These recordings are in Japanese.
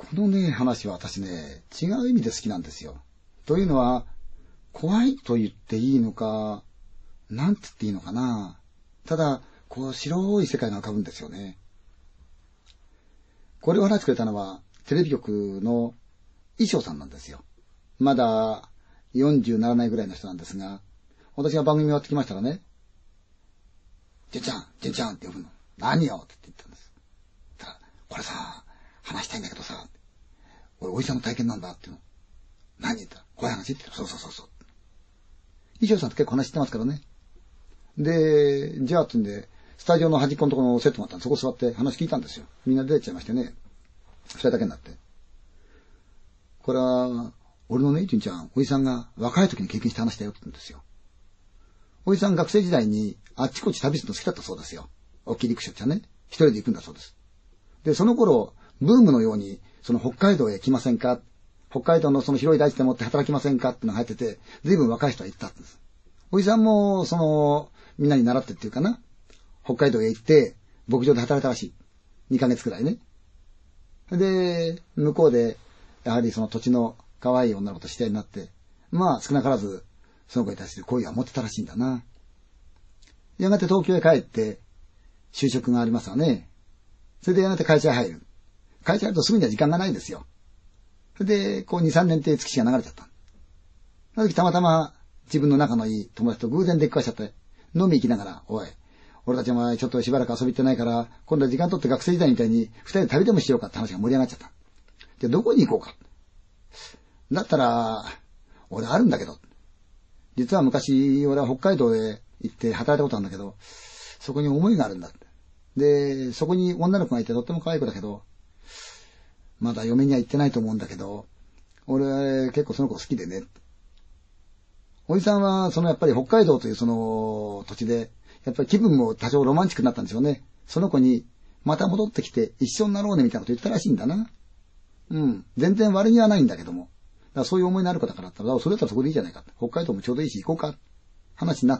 このね、話は私ね、違う意味で好きなんですよ。というのは、怖いと言っていいのか、なんつっていいのかな。ただ、こう、白い世界が浮かぶんですよね。これを話してくれたのは、テレビ局の衣装さんなんですよ。まだ40ならないぐらいの人なんですが、私が番組終わってきましたらね、純ちゃんって呼ぶの。何よって言ったんです。たら、これさ、話したいんだけどさ、俺おじさんの体験なんだっていうの。何言ったら、怖い話って。そう。衣装さんって結構話してますからね。で、じゃあってんで、スタジオの端っこのところのセットがあったんで、そこ座って話聞いたんですよ。みんな出てっちゃいましてね。二人だけになって。これは、俺のね、純ちゃん、おじさんが若い時に経験した話だよって言うんですよ。おじさん学生時代にあっちこっち旅するの好きだったそうですよ。大きい陸上ゃね。一人で行くんだそうです。で、その頃、ブームのように、その北海道へ来ませんか、北海道のその広い大地でもって働きませんかってのが入ってて、随分若い人は行ったんです。おじさんも、みんなに習ってっていうかな、北海道へ行って、牧場で働いたらしい。2ヶ月くらいね。で、向こうで、やはりその土地の可愛い女の子と知り合いになって、まあ少なからず、その子に対する好意は持ってたらしいんだな。やがて東京へ帰って、就職がありますわね。それでやがて会社へ入る。会社入るとすぐには時間がないんですよ。それで、こう2、3年っていう月日が流れちゃった。その時たまたま自分の仲のいい友達と偶然出くわしちゃって、飲み行きながら、おい、俺たちお前ちょっとしばらく遊び行ってないから、今度は時間取って学生時代みたいに二人で旅でもしようかって話が盛り上がっちゃった。じゃあどこに行こうか。だったら、俺あるんだけど。実は昔、俺は北海道へ行って働いたことあるんだけど、そこに思いがあるんだって。で、そこに女の子がいてとっても可愛い子だけど、まだ嫁には行ってないと思うんだけど、俺結構その子好きでね。おじさんは、やっぱり北海道というその土地で、やっぱり気分も多少ロマンチックになったんですよね。その子に、また戻ってきて一緒になろうねみたいなこと言ったらしいんだな。うん。全然悪気はないんだけども。だからそういう思いのある子だからだったら、それだったらそこでいいじゃないか。北海道もちょうどいいし行こうか。話になった。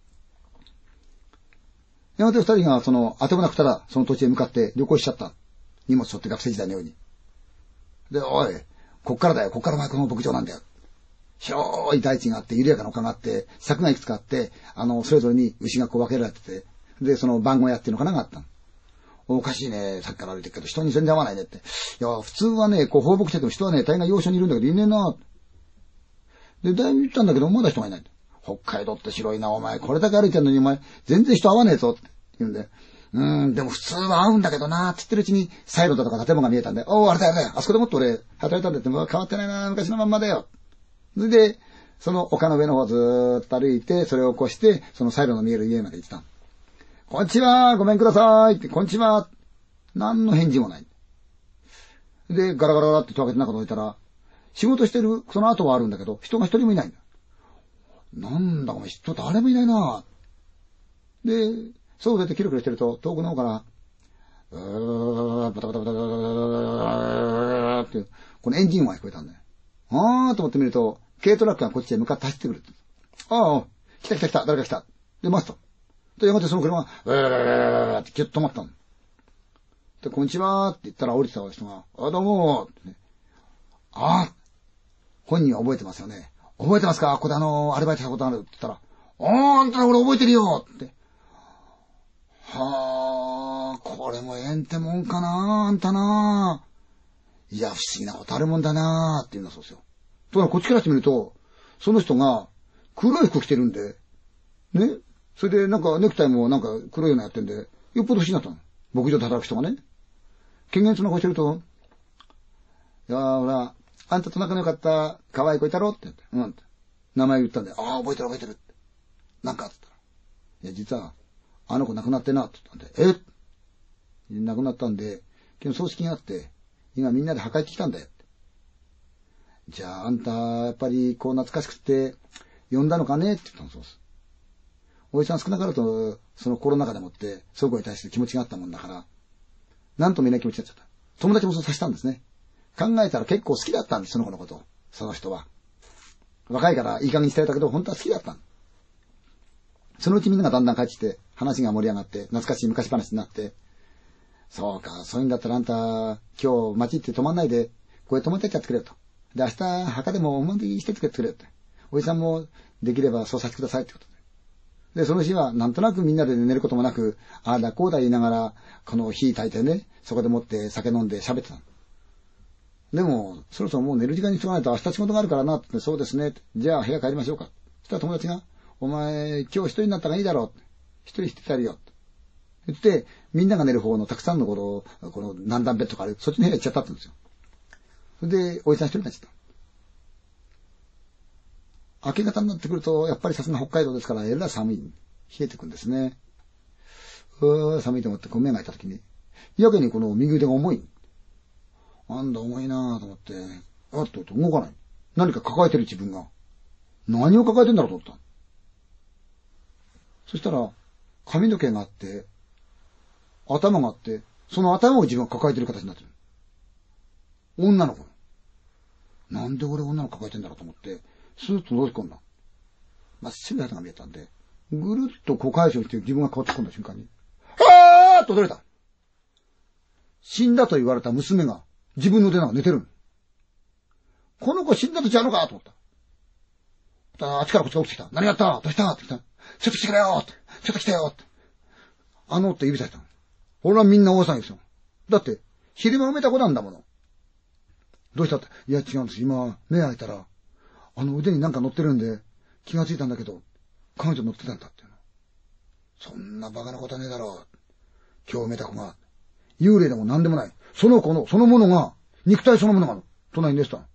やがて二人が当てもなくたら、その土地へ向かって旅行しちゃった。荷物背負って学生時代のように。で、おい、こっからだよ。こっから前この牧場なんだよ。広い大地があって、緩やかな丘があって、柵がいくつかあって、それぞれに牛がこう分けられてて、で、その番小屋っていうのかながあった。おかしいね。さっきから歩いてるけど、人に全然会わないねって。いや、普通はね、こう放牧してても人はね、大概要所にいるんだけど、いねえな。で、だいぶ言ったんだけど、まだ人がいない。北海道って広いな、お前。これだけ歩いてんのに、お前、全然人会わねえぞ。って言うんで。でも普通は会うんだけどな、って言ってるうちに、サイロだとか建物が見えたんで、あれだよね。あそこでもっと俺、働いたんだって、もう変わってないな、昔のまんまだよ。それで、その丘の上の方をずーっと歩いて、それを越して、そのサイロの見える家まで行ってた。こんにちは、ごめんくださいって、こんにちは。何の返事もない。で、ガラガラガラって戸開けて中に置いたら、仕事してる、その後はあるんだけど、人が一人もいないんだ。なんだ、お前、人誰もいないな。で、そう出てキロキロしてると、遠くの方から、バタバタバタバタバタバタって、このエンジン音が聞こえたんだよ。あーと思ってみると、軽トラックがこっちへ向かって走ってくるって。ああ、来た、誰か来た。で、待つと。で、やがてその車が、ってキュッと止まったの。で、こんにちはって言ったら降りてた人が、どうもってね。本人は覚えてますよね。覚えてますか、ここでアルバイトしたことあるって言ったら、あんた俺覚えてるよって。これもえんてもんかな、あんたな。いや、不思議なことあるもんだなって言うんだそうですよ。ところがこっちからしてみると、その人が黒い服着てるんで、ね。それでなんかネクタイもなんか黒いのやってんで、よっぽど不思議になったの。牧場で働く人がね。権限その顔してると、いやほら、あんたと仲の良かった可愛い子いたろって言って、って。名前言ったんで、覚えてるって。なんかって言ったら、いや、実は、あの子亡くなってなって言ったんで、亡くなったんで、昨日葬式があって、今みんなで墓行ってきたんだよって。じゃあ、あんた、やっぱりこう懐かしくて、呼んだのかねって言ったのそうです。おじさん少なからと、そのコロナ禍でもって、その子に対して気持ちがあったもんだから、なんとも言えない気持ちになっちゃった。友達もそうさせたんですね。考えたら結構好きだったんです、その子のこと。その人は。若いからいい加減にしてたけど、本当は好きだったの。そのうちみんながだんだん帰ってきて、話が盛り上がって、懐かしい昔話になって、 そうか、そういうんだったらあんた、今日街行って泊まんないで、これ泊まってっちゃってくれよと。で、明日、墓でもお参りしてってくれって。おじさんもできればそうさせてくださいってことで。で、その日はなんとなくみんなで寝ることもなく、ああだこうだ言いながら、この火焚いてね、そこでもって酒飲んで喋ってたの。でも、そろそろもう寝る時間にしとかないと明日仕事があるからなって、そうですね。じゃあ部屋帰りましょうか。そしたら友達が、お前、今日一人になったらいいだろう。一人してやるよ。言って、みんなが寝る方のたくさんのこの何段ベッドかある、そっちの部屋行っちゃったって言うんですよ。それで、おじさん一人になっちゃった。明け方になってくると、やっぱりさすが北海道ですから、えらい寒い。冷えてくんですね。寒いと思ってこう目が開いたときに、やけにこの右腕が重い。なんだ重いなぁと思って、あっと動かない。何か抱えてる自分が。何を抱えてんだろうと思った。そしたら、髪の毛があって、頭があって、その頭を自分が抱えてる形になってる。女の子。なんで俺女の子抱えてんだろうと思って、スーッと覗き込んだ。真っ白い肌が見えたんで、ぐるっとこう解消して自分が変わって込んだ瞬間に、あーっと驚いた。死んだと言われた娘が自分の腕なんか寝てる。この子死んだとちゃうのかと思った。あっちからこっちが起きてきた。何やったどうしたって来た。ちょっと来てくれよって。ちょっと来てよって。って指さした。俺はみんな大騒ぎですよ。だって、昼間埋めた子なんだもの。どうしたって。いや違うんです。今、目開いたら、腕になんか乗ってるんで、気がついたんだけど、彼女乗ってたんだっていうの。そんなバカなことはねえだろう。今日埋めた子が、幽霊でも何でもない。その子の、そのものが、肉体そのものが、隣に寝てたの。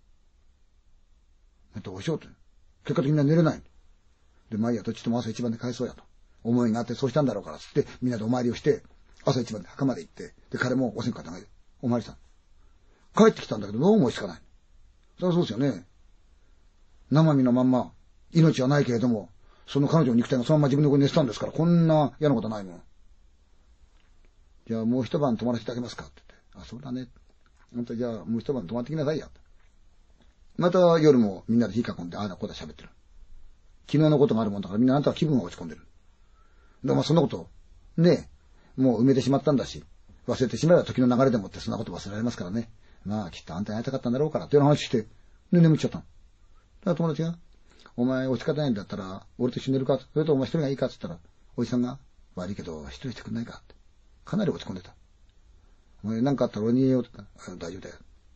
どうしようって。結果的には寝れない。で、まあいいや、どっちとも朝一番で帰そうやと。思いがあってそうしたんだろうから、つって、みんなでお参りをして、朝一番で墓まで行って、で、彼もお線香投げて、お参りした。帰ってきたんだけど、どうも追いつかない。そりゃそうですよね。生身のまんま、命はないけれども、その彼女の肉体がそのまま自分の子に寝てたんですから、こんな嫌なことはないもん。じゃあもう一晩泊まらせてあげますかって言って。あ、そうだね。本当じゃあもう一晩泊まってきなさいや。また夜もみんなで火囲んで、ああだこうだ喋ってる。昨日のことがあるもんだからみんなあんたは気分が落ち込んでる。でもそんなこと、ねえ、もう埋めてしまったんだし、忘れてしまえば時の流れでもってそんなこと忘れられますからね。まあきっとあんたに会いたかったんだろうからっていう話して、で眠っちゃったの。だから友達が、お前落ち方ないんだったら、俺と一緒に寝るかそれとお前一人がいいかって言ったら、おじさんが、悪いけど一人してくんないかって。かなり落ち込んでた。お前なんかあったら俺に言えよって言ったら、大丈夫だよ。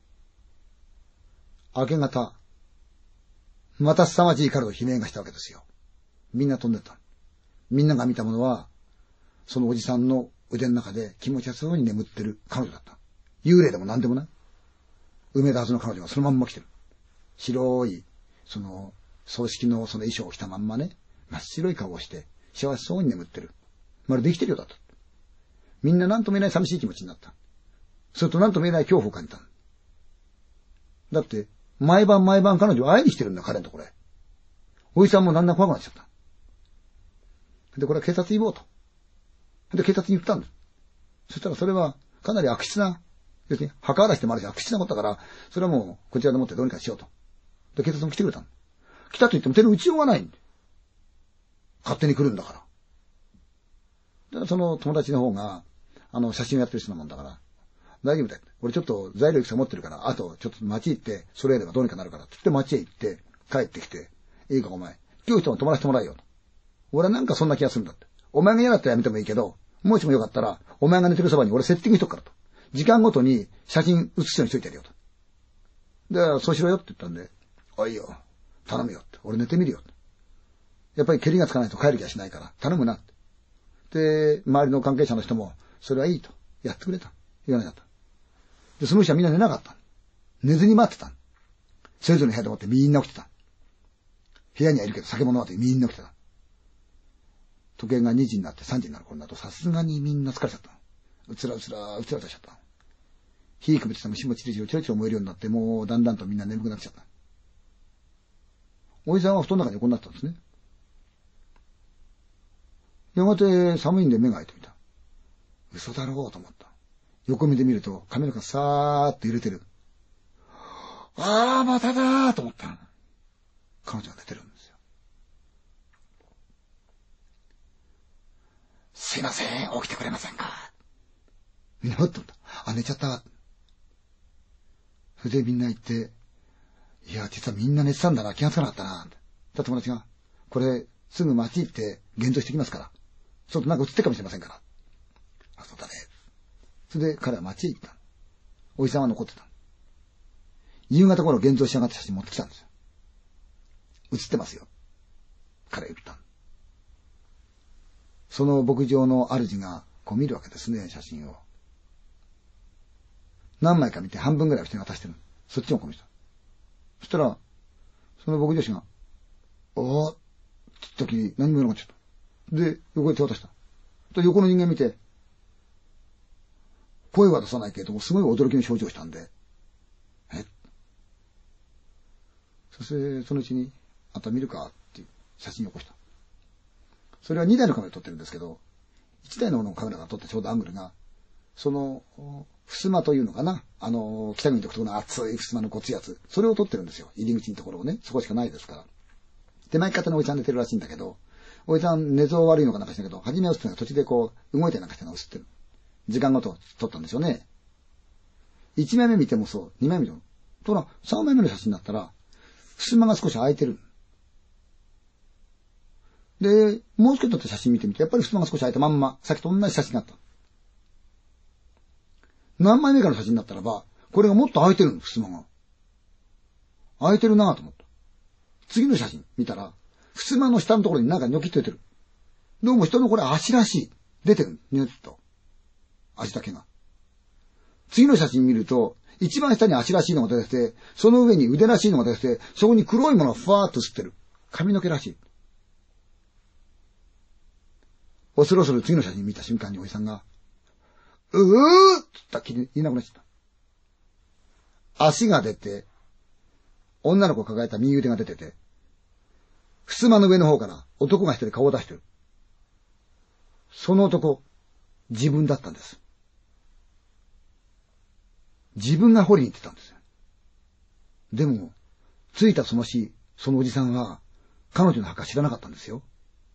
明け方、また凄まじい彼の悲鳴がしたわけですよ。みんな飛んでった。みんなが見たものは、そのおじさんの腕の中で気持ちよさそうに眠ってる彼女だった。幽霊でも何でもない。埋めたはずの彼女がそのまんま来てる。白い、葬式のその衣装を着たまんまね、真っ白い顔をして、幸せそうに眠ってる。まるで生きてるようだった。みんな何とも言えない寂しい気持ちになった。それと何とも言えない恐怖を感じた。だって、毎晩毎晩彼女を会いにしてるんだ、彼のところへ。おじさんもだんだん怖くなっちゃった。で、これは警察に言おうと。で、警察に言ったんです。そしたらそれはかなり悪質な、要するに墓荒らしでもあるし悪質なことだから、それはもうこちらでもってどうにかしようと。で、警察も来てくれたの。来たと言っても手の打ちようがないんで。勝手に来るんだから。だからその友達の方が、写真をやってる人なもんだから、大丈夫だよ。俺ちょっと材料いくつか持ってるから、あとちょっと街行って、それやればどうにかなるから、つって街へ行って、帰ってきて、いいかお前、今日一晩泊まらせてもらえよと。俺はなんかそんな気がするんだって。お前が嫌だったらやめてもいいけど、もしもよかったら、お前が寝てるそばに俺セッティングしとくからと。時間ごとに写真写すようにしといてやるよと。で、そうしろよって言ったんで、あ、いいよ。頼むよって。俺寝てみるよって。やっぱり蹴りがつかないと帰る気がしないから、頼むなって。で、周りの関係者の人も、それはいいと。やってくれた。言わなかった。で、その人はみんな寝なかった。寝ずに待ってた。それぞれの部屋でもってみんな起きてた。部屋にはいるけど酒も飲まずにみんな起きてた。時計が2時になって3時になる頃になるとさすがにみんな疲れちゃった。うつらとしちゃった。火くべてた虫もチリチリチリチリ燃えるようになって、もうだんだんとみんな眠くなっちゃった。おじさんは布団の中に横になってたんですね。やがて寒いんで目が開いてみた。嘘だろうと思った。横目で見ると髪の毛がさーっと揺れてる。ああ、まただーと思った。彼女が寝てるんですよ。すいません、起きてくれませんか。 みんなふっと思った。あ、寝ちゃった。それでみんな行って、いや、実はみんな寝てたんだな、気がつかなかったな。友達が、これ、すぐ街行って現像してきますから。そうとなんか映ってるかもしれませんから。あ、そうだね。それで彼は街へ行った。おじさんは残ってた。夕方頃現像し上がった写真持ってきたんですよ。映ってますよ。彼は言った。その牧場の主がこう見るわけですね、写真を。何枚か見て半分ぐらい人に渡してる。そっちもこの人。そしたら、その牧場主が、おーって時に何も言わなかった。で、横で手渡した。と横の人間見て、声は出さないけれども、すごい驚きの表情をしたんで、そして、そのうちに、あんた見るかっていう写真を起こした。それは2台のカメラで撮ってるんですけど、1台のカメラが撮ったちょうどアングルが、その、襖というのかな、北国独特の熱い襖のごついやつ、それを撮ってるんですよ。入り口のところをね、そこしかないですから。手前方のおじさん寝てるらしいんだけど、おじさん寝相悪いのかなんかしたけど、初めは映ってるのが途中でこう、動いてなんかしたのが映ってる。時間ごと撮ったんでしょうね。1枚目見てもそう、2枚目見ても。ところが、3枚目の写真だったら、襖が少し開いてる。で、もう少し撮った写真見てみて、やっぱり襖が少し開いたまんま、さっきと同じ写真があった。何枚目かの写真だったらば、これがもっと開いてるの、襖が。開いてるなぁと思った。次の写真見たら、襖の下のところになんかニョキッと出てる。どうも人のこれ足らしい。出てる。ニョキッと。足だけが。次の写真見ると、一番下に足らしいのが出てて、その上に腕らしいのが出てて、そこに黒いものがふわーっと吸ってる。髪の毛らしい。恐る恐る次の写真見た瞬間におじさんが、って言ったっきり言いなくなっちゃった。足が出て、女の子を抱えた右腕が出てて、襖の上の方から男が一人顔を出してる。その男、自分だったんです。自分が掘りに行ってたんですよ。でも、着いたその日、そのおじさんは、彼女の墓知らなかったんですよ。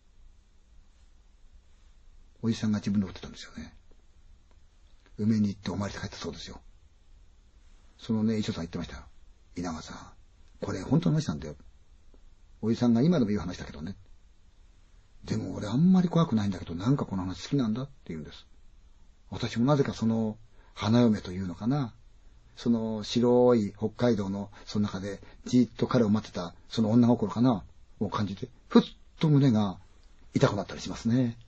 おじさんが自分で掘ってたんですよね。埋めに行ってお参りして帰ったそうですよ。そのね、遺書さん言ってましたよ。稲川さん、これ本当の話なんだよ。おじさんが今でも言う話だけどね。でも俺あんまり怖くないんだけど、なんかこの話好きなんだって言うんです。私もなぜかその花嫁というのかな。その白い北海道のその中でじーっと彼を待ってたその女心かなを感じて、ふっと胸が痛くなったりしますね。